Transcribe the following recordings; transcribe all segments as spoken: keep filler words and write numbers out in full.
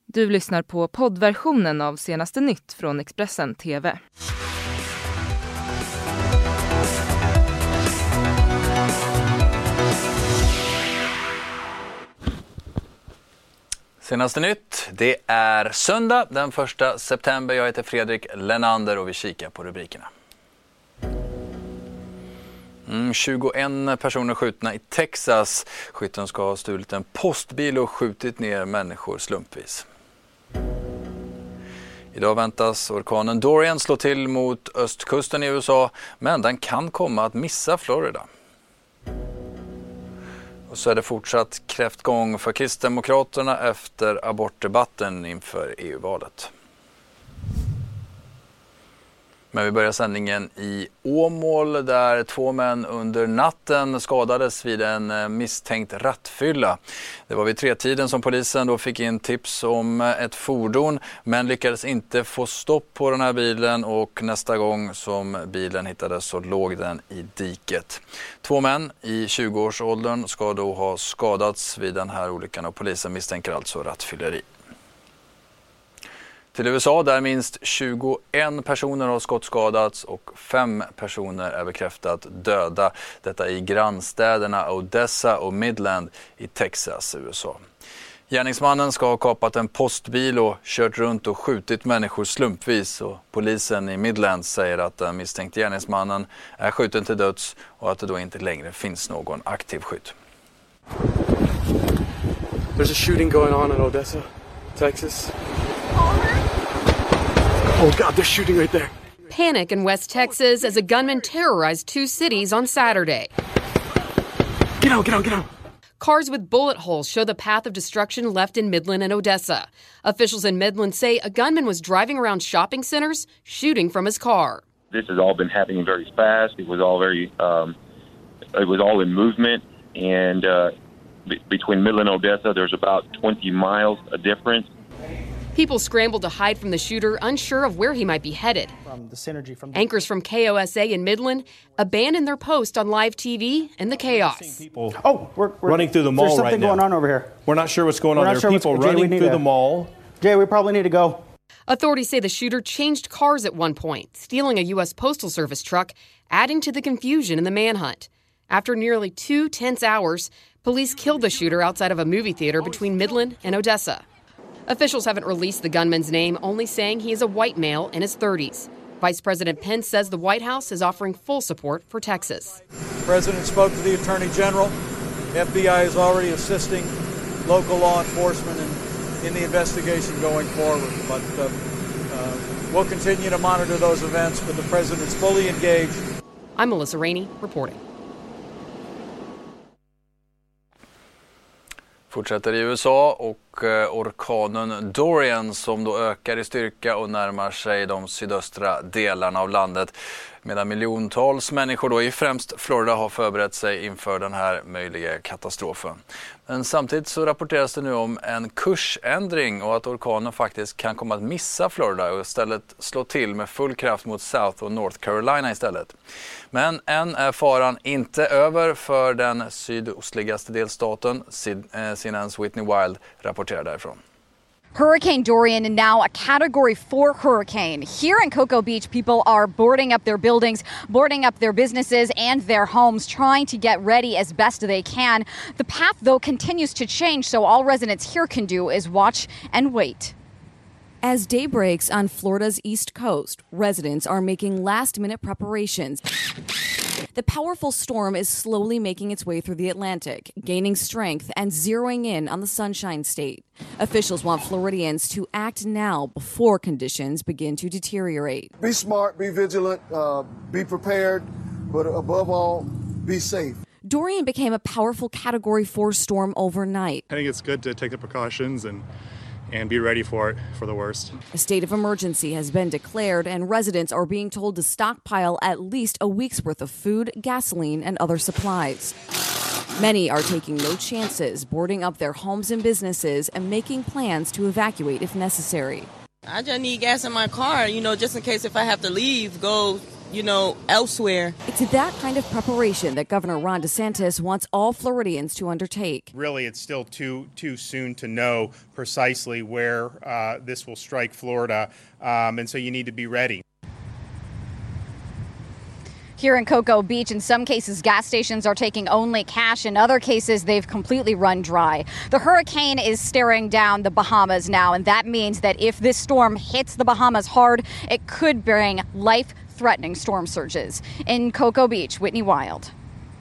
Du lyssnar på poddversionen av Senaste Nytt från Expressen T V. Senaste Nytt, det är söndag den första september. Jag heter Fredrik Lennander och vi kikar på rubrikerna. Mm, tjugoen personer skjutna i Texas. Skytten ska ha stulit en postbil och skjutit ner människor slumpvis. Idag väntas orkanen Dorian slå till mot östkusten i U S A, men den kan komma att missa Florida. Och så är det fortsatt kräftgång för Kristdemokraterna efter abortdebatten inför E U-valet. Men vi börjar sändningen i Åmål där två män under natten skadades vid en misstänkt rattfylla. Det var vid tretiden som polisen då fick in tips om ett fordon men lyckades inte få stopp på den här bilen och nästa gång som bilen hittades så låg den i diket. Två män i tjugoårsåldern ska då ha skadats vid den här olyckan och polisen misstänker alltså rattfylleri. Till U S A där minst tjugoen personer har skottskadats och fem personer är bekräftat döda. Detta i grannstäderna Odessa och Midland i Texas, U S A. Gärningsmannen ska ha kapat en postbil och kört runt och skjutit människor slumpvis. Och polisen i Midland säger att den misstänkte gärningsmannen är skjuten till döds och att det då inte längre finns någon aktiv skytt. There's a shooting going on in Odessa, Texas. Oh God, they're shooting right there. Panic in West Texas as a gunman terrorized two cities on Saturday. Get out, get out, get out. Cars with bullet holes show the path of destruction left in Midland and Odessa. Officials in Midland say a gunman was driving around shopping centers, shooting from his car. This has all been happening very fast. It was all very, um, it was all in movement. And uh, b- between Midland and Odessa, there's about twenty miles a difference. People scrambled to hide from the shooter, unsure of where he might be headed. From the synergy from the- Anchors from K O S A in Midland abandoned their post on live T V in the chaos. People oh, we're, we're running through the mall there's something right now. going on over here. We're not sure what's going We're on. not There are sure people Jay, we running need through to- the mall. Jay, we probably need to go. Authorities say the shooter changed cars at one point, stealing a U S Postal Service truck, adding to the confusion in the manhunt. After nearly two tense hours, police killed the shooter outside of a movie theater between Midland and Odessa. Officials haven't released the gunman's name, only saying he is a white male in his thirties. Vice President Pence says the White House is offering full support for Texas. The President spoke to the Attorney General. F B I is already assisting local law enforcement in, in the investigation going forward. But uh, uh, we'll continue to monitor those events, but the President's fully engaged. I'm Melissa Rainey, reporting. Fortsätter i U S A och eh, orkanen Dorian som då ökar i styrka och närmar sig de sydöstra delarna av landet. Medan miljontals människor då i främst Florida har förberett sig inför den här möjliga katastrofen. Men samtidigt så rapporteras det nu om en kursändring och att orkanen faktiskt kan komma att missa Florida och istället slå till med full kraft mot South och North Carolina istället. Men än är faran inte över för den sydostligaste delstaten. C N N:s Whitney Wild rapporterar därifrån. Hurricane Dorian now a Category four hurricane. Here in Cocoa Beach, people are boarding up their buildings, boarding up their businesses and their homes, trying to get ready as best they can. The path, though, continues to change, so all residents here can do is watch and wait. As day breaks on Florida's East Coast, residents are making last-minute preparations. The powerful storm is slowly making its way through the Atlantic, gaining strength and zeroing in on the Sunshine State. Officials want Floridians to act now before conditions begin to deteriorate. Be smart, be vigilant, uh, be prepared, but above all, be safe. Dorian became a powerful Category four storm overnight. I think it's good to take the precautions and and be ready for it, for the worst. A state of emergency has been declared, and residents are being told to stockpile at least a week's worth of food, gasoline, and other supplies. Many are taking no chances, boarding up their homes and businesses and making plans to evacuate if necessary. I just need gas in my car, you know, just in case if I have to leave, go you know, elsewhere. It's that kind of preparation that Governor Ron DeSantis wants all Floridians to undertake. Really, it's still too too soon to know precisely where uh, this will strike Florida, um, and so you need to be ready. Here in Cocoa Beach, in some cases, gas stations are taking only cash. In other cases, they've completely run dry. The hurricane is staring down the Bahamas now, and that means that if this storm hits the Bahamas hard, it could bring life-threatening storm surges. In Cocoa Beach, Whitney Wild.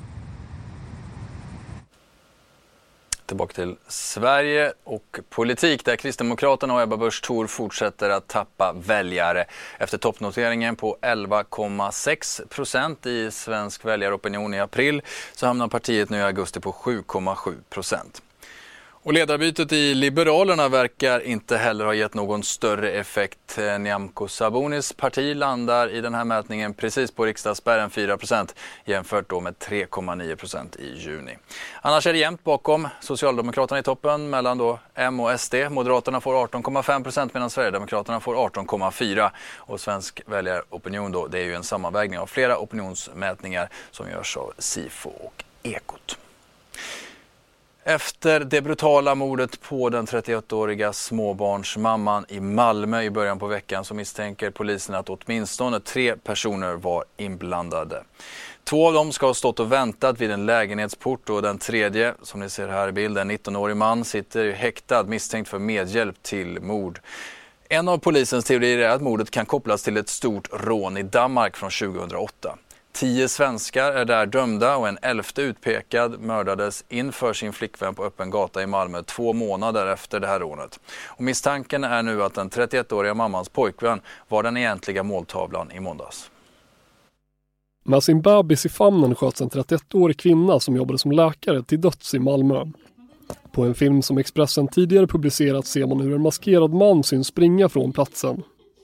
Tillbaka till Sverige och politik där Kristdemokraterna och Ebba Busch Thor fortsätter att tappa väljare. Efter toppnoteringen på elva komma sex procent i svensk väljaropinion i april så hamnar partiet nu i augusti på sju komma sju procent. Och ledarbytet i Liberalerna verkar inte heller ha gett någon större effekt. Nyamko Sabunis parti landar i den här mätningen precis på riksdagsspärren fyra procent jämfört då med tre komma nio procent i juni. Annars är det jämnt bakom Socialdemokraterna i toppen mellan då M och S D. Moderaterna får arton komma fem procent medan Sverigedemokraterna får arton komma fyra procent. Och svensk väljaropinion då, det är ju en sammanvägning av flera opinionsmätningar som görs av Sifo och Ekot. Efter det brutala mordet på den trettioåttåriga småbarnsmamman i Malmö i början på veckan så misstänker polisen att åtminstone tre personer var inblandade. Två av dem ska ha stått och väntat vid en lägenhetsport och den tredje, som ni ser här i bilden, en nittonårig man, sitter häktad misstänkt för medhjälp till mord. En av polisens teorier är att mordet kan kopplas till ett stort rån i Danmark från tjugohundraåtta. Tio svenskar är där dömda och en elfte utpekad mördades inför sin flickvän på öppen gata i Malmö två månader efter det här rånet. Och misstanken är nu att den trettioettåriga mammans pojkvän var den egentliga måltavlan i måndags. Med sin bebis i famnen sköts en trettioettårig kvinna som jobbade som läkare till döds i Malmö. På en film som Expressen tidigare publicerat ser man hur en maskerad man syns springa från platsen.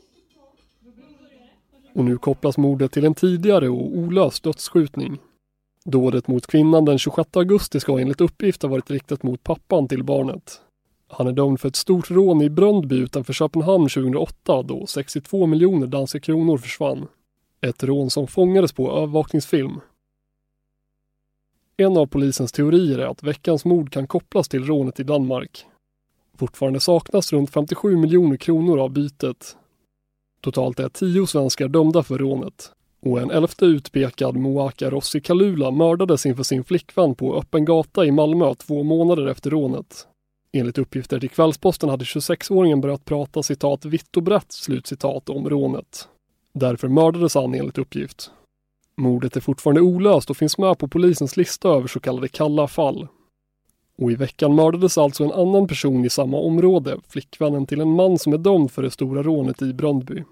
Och nu kopplas mordet till en tidigare och olöst dödsskjutning. Dådet mot kvinnan den tjugosjätte augusti ska enligt uppgift ha varit riktat mot pappan till barnet. Han är dömd för ett stort rån i Bröndby utanför Köpenhamn tjugohundraåtta då sextiotvå miljoner danska kronor försvann. Ett rån som fångades på övervakningsfilm. En av polisens teorier är att veckans mord kan kopplas till rånet i Danmark. Fortfarande saknas runt femtiosju miljoner kronor av bytet. Totalt är tio svenskar dömda för rånet. Och en elfte utpekad Moaka Rossi Kalula mördades inför sin flickvän på öppen gata i Malmö två månader efter rånet. Enligt uppgifter till Kvällsposten hade tjugosexåringen börjat prata citat vitt och brett slutcitat om rånet. Därför mördades han enligt uppgift. Mordet är fortfarande olöst och finns med på polisens lista över så kallade kalla fall. Och i veckan mördades alltså en annan person i samma område, flickvännen till en man som är dömd för det stora rånet i Bröndby.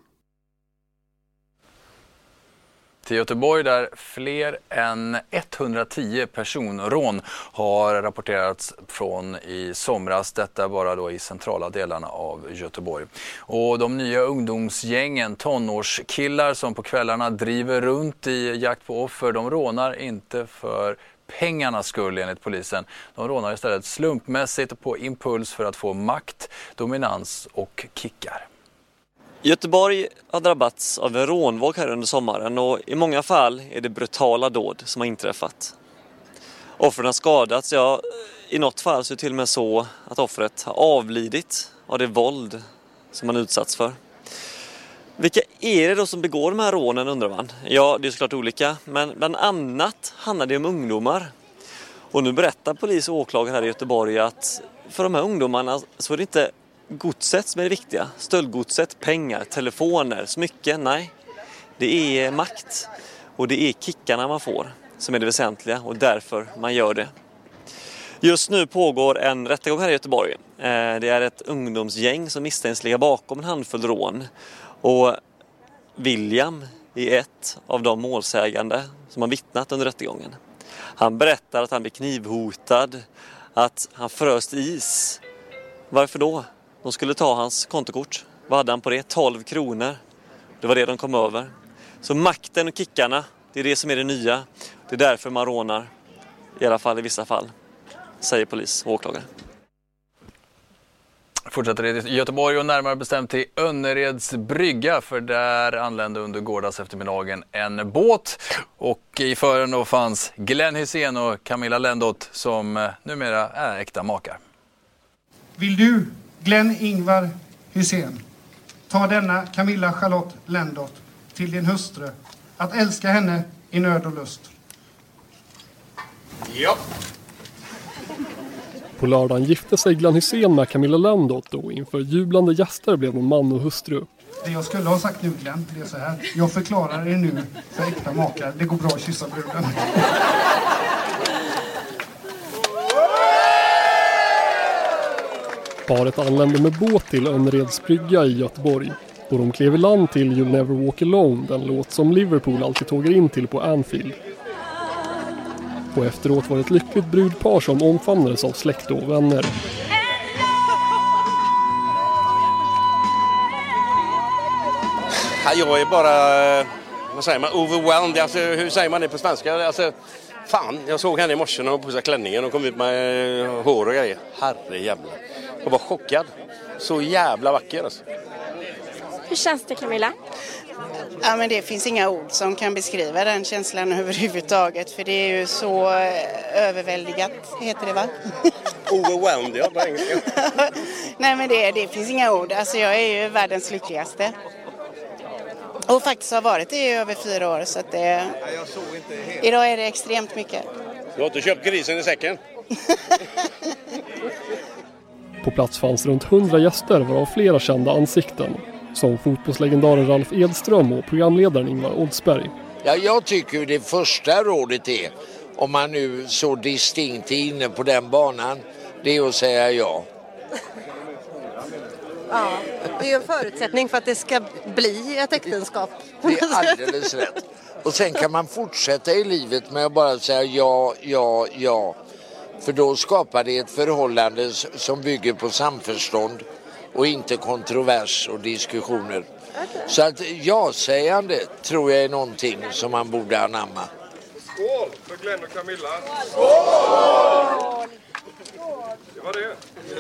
Till Göteborg där fler än etthundratio personrån har rapporterats från i somras, detta bara då i centrala delarna av Göteborg. Och de nya ungdomsgängen, tonårskillar som på kvällarna driver runt i jakt på offer, de rånar inte för pengarnas skull enligt polisen. De rånar istället slumpmässigt på impuls för att få makt, dominans och kickar. Göteborg har drabbats av en rånvåg här under sommaren och i många fall är det brutala dåd som har inträffat. Offren har skadats, ja i något fall så är det till och med så att offret har avlidit av det våld som man utsatts för. Vilka är det då som begår de här rånen undrar man? Ja, det är såklart olika, men bland annat handlar det om ungdomar. Och nu berättar polis och åklagare här i Göteborg att för de här ungdomarna så är det inte godset som är det viktiga. Stöldgodset, pengar, telefoner, smycken, nej. Det är makt och det är kickarna man får som är det väsentliga och därför man gör det. Just nu pågår en rättegång här i Göteborg. Det är ett ungdomsgäng som misstänks ligga bakom en handfull rån. Och William är ett av de målsägande som har vittnat under rättegången. Han berättar att han blev knivhotad, att han fröst is. Varför då? De skulle ta hans kontokort. Vad hade han på det? tolv kronor. Det var det de kom över. Så makten och kickarna, det är det som är det nya. Det är därför man rånar. I alla fall i vissa fall, säger polis och åklagare. Fortsätter i Göteborg och närmare bestämt till Önnereds brygga, för där anlände under gårdags eftermiddagen en båt och i fören då fanns Glenn Hysén och Camilla Lendot som numera är äkta makar. Vill du, Glenn Ingvar Hysén, ta denna Camilla Charlotte Lendot till din hustru, att älska henne i nöd och lust? Ja. På lördagen gifte sig Glenn Hysén med Camilla Lendot och inför jublande gäster blev de man och hustru. Det jag skulle ha sagt nu, Glenn, det är så här. Jag förklarar er nu för äkta makar. Det går bra att kyssa bruden. Paret anlände med båt till Önnereds brygga i Göteborg och de klev i land till You'll Never Walk Alone, den låt som Liverpool alltid tågar in till på Anfield. Och efteråt var det ett lyckligt brudpar som omfamnades av släkt och vänner. Jag är bara, vad säger man, overwhelmed. Alltså, hur säger man det på svenska? Alltså, fan, jag såg henne i morse när hon pussade klänningen och kom ut med hår och grejer. Herre jävla. Jag var chockad. Så jävla vacker alltså. Hur känns det, Camilla? Ja, men det finns inga ord som kan beskriva den känslan överhuvudtaget. För det är ju så överväldigat, heter det va? Overwhelmed, ja, på engelska. Nej, men det, det finns inga ord. Alltså jag är ju världens lyckligaste. Och faktiskt har varit det i över fyra år. Så att det, idag är det extremt mycket. Du har inte köpt grisen i säcken? På plats fanns runt hundra gäster varav flera kända ansikten. Som fotbollslegendaren Ralf Edström och programledaren Ingvar Oldsberg. Ja, jag tycker det första rådet är, om man nu så distinkt är inne på den banan, det är att säga ja. Ja, det är ju en förutsättning för att det ska bli ett äktenskap. Det är alldeles rätt. Och sen kan man fortsätta i livet med att bara säga ja, ja, ja. För då skapar det ett förhållande som bygger på samförstånd och inte kontrovers och diskussioner. Okay. Så att ja-sägande tror jag är någonting som man borde anamma. Skål för Glenn och Camilla! Skål! Det var det.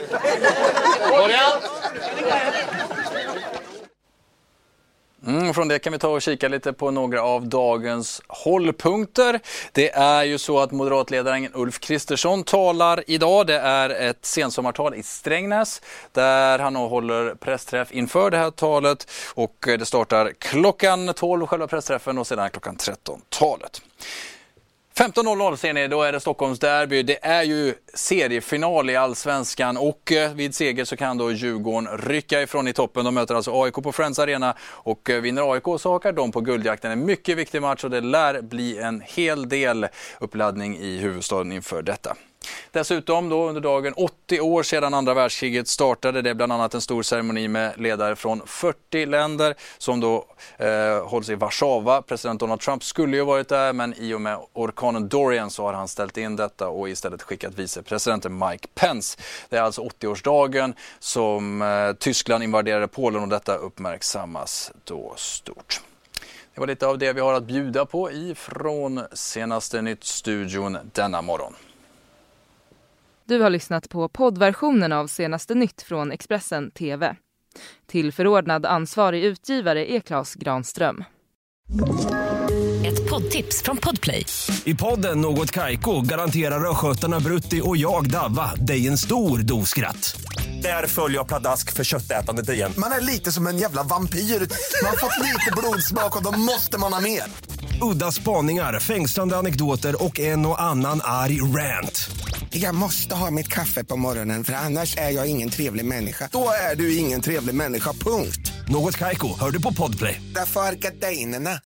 Mm, från det kan vi ta och kika lite på några av dagens hållpunkter. Det är ju så att moderatledaren Ulf Kristersson talar idag. Det är ett sensommartal i Strängnäs där han håller pressträff inför det här talet. Och det startar klockan tolv, själva pressträffen, och sedan klockan tretton-talet. femton noll noll ser ni, då är det Stockholms derby. Det är ju seriefinal i Allsvenskan och vid seger så kan då Djurgården rycka ifrån i toppen. De möter alltså A I K på Friends Arena och vinner A I K så hakar de på guldjakten. En mycket viktig match och det lär bli en hel del uppladdning i huvudstaden inför detta. Dessutom då under dagen åttio år sedan andra världskriget startade. Det är bland annat en stor ceremoni med ledare från fyrtio länder som då eh, hålls i Warszawa. President Donald Trump skulle ju varit där, men i och med orkanen Dorian så har han ställt in detta och istället skickat vicepresidenten Mike Pence. Det är alltså åttio-årsdagen som eh, Tyskland invaderade Polen och detta uppmärksammas då stort. Det var lite av det vi har att bjuda på ifrån Senaste Nytt-studion denna morgon. Du har lyssnat på poddversionen av Senaste Nytt från Expressen T V. Till förordnad ansvarig utgivare är Claes Granström. Ett poddtips från Podplay. I podden Något Kaiko garanterar röskötarna Brutti och jag Davva dig en stor doskratt. Där följer jag pladask för köttätandet igen. Man är lite som en jävla vampyr. Man har fått lite blodsmak och då måste man ha mer. Udda spaningar, fängslande anekdoter och en och annan arg rant. Jag måste ha mitt kaffe på morgonen för annars är jag ingen trevlig människa. Då är du ingen trevlig människa, punkt. Något Kaiko, hör du på Podplay. Därför är gardinerna.